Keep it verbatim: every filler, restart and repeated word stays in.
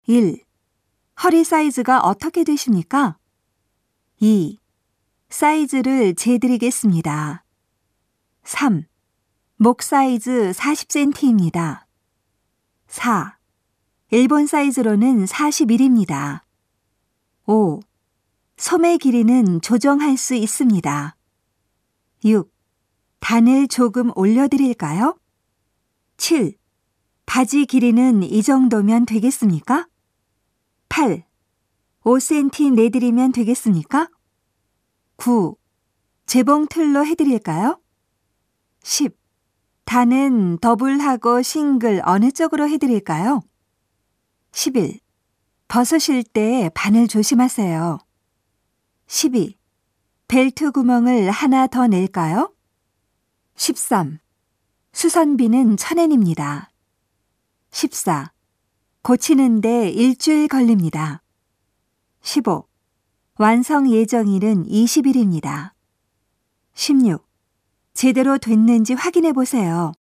일. 허리 사이즈가 어떻게 되십니까? 이. 사이즈를 재드리겠습니다. 삼. 목 사이즈 사십 센티미터입니다. 사. 일본 사이즈로는 사십일입니다. 오. 소매 길이는 조정할 수 있습니다. 육. 단을 조금 올려드릴까요? 칠. 바지 길이는 이 정도면 되겠습니까? 팔. 오 센티미터 내드리면 되겠습니까? 구. 재봉 틀로 해드릴까요? 십. 단은 더블하고 싱글 어느 쪽으로 해드릴까요? 십일. 벗으실 때 바늘 조심하세요. 십이. 벨트 구멍을 하나 더 낼까요? 십삼. 수선비는 천 엔입니다. 십사. 고치는데 일주일 걸립니다. 십오. 완성 예정일은 이십 일입니다. 십육. 제대로 됐는지 확인해 보세요.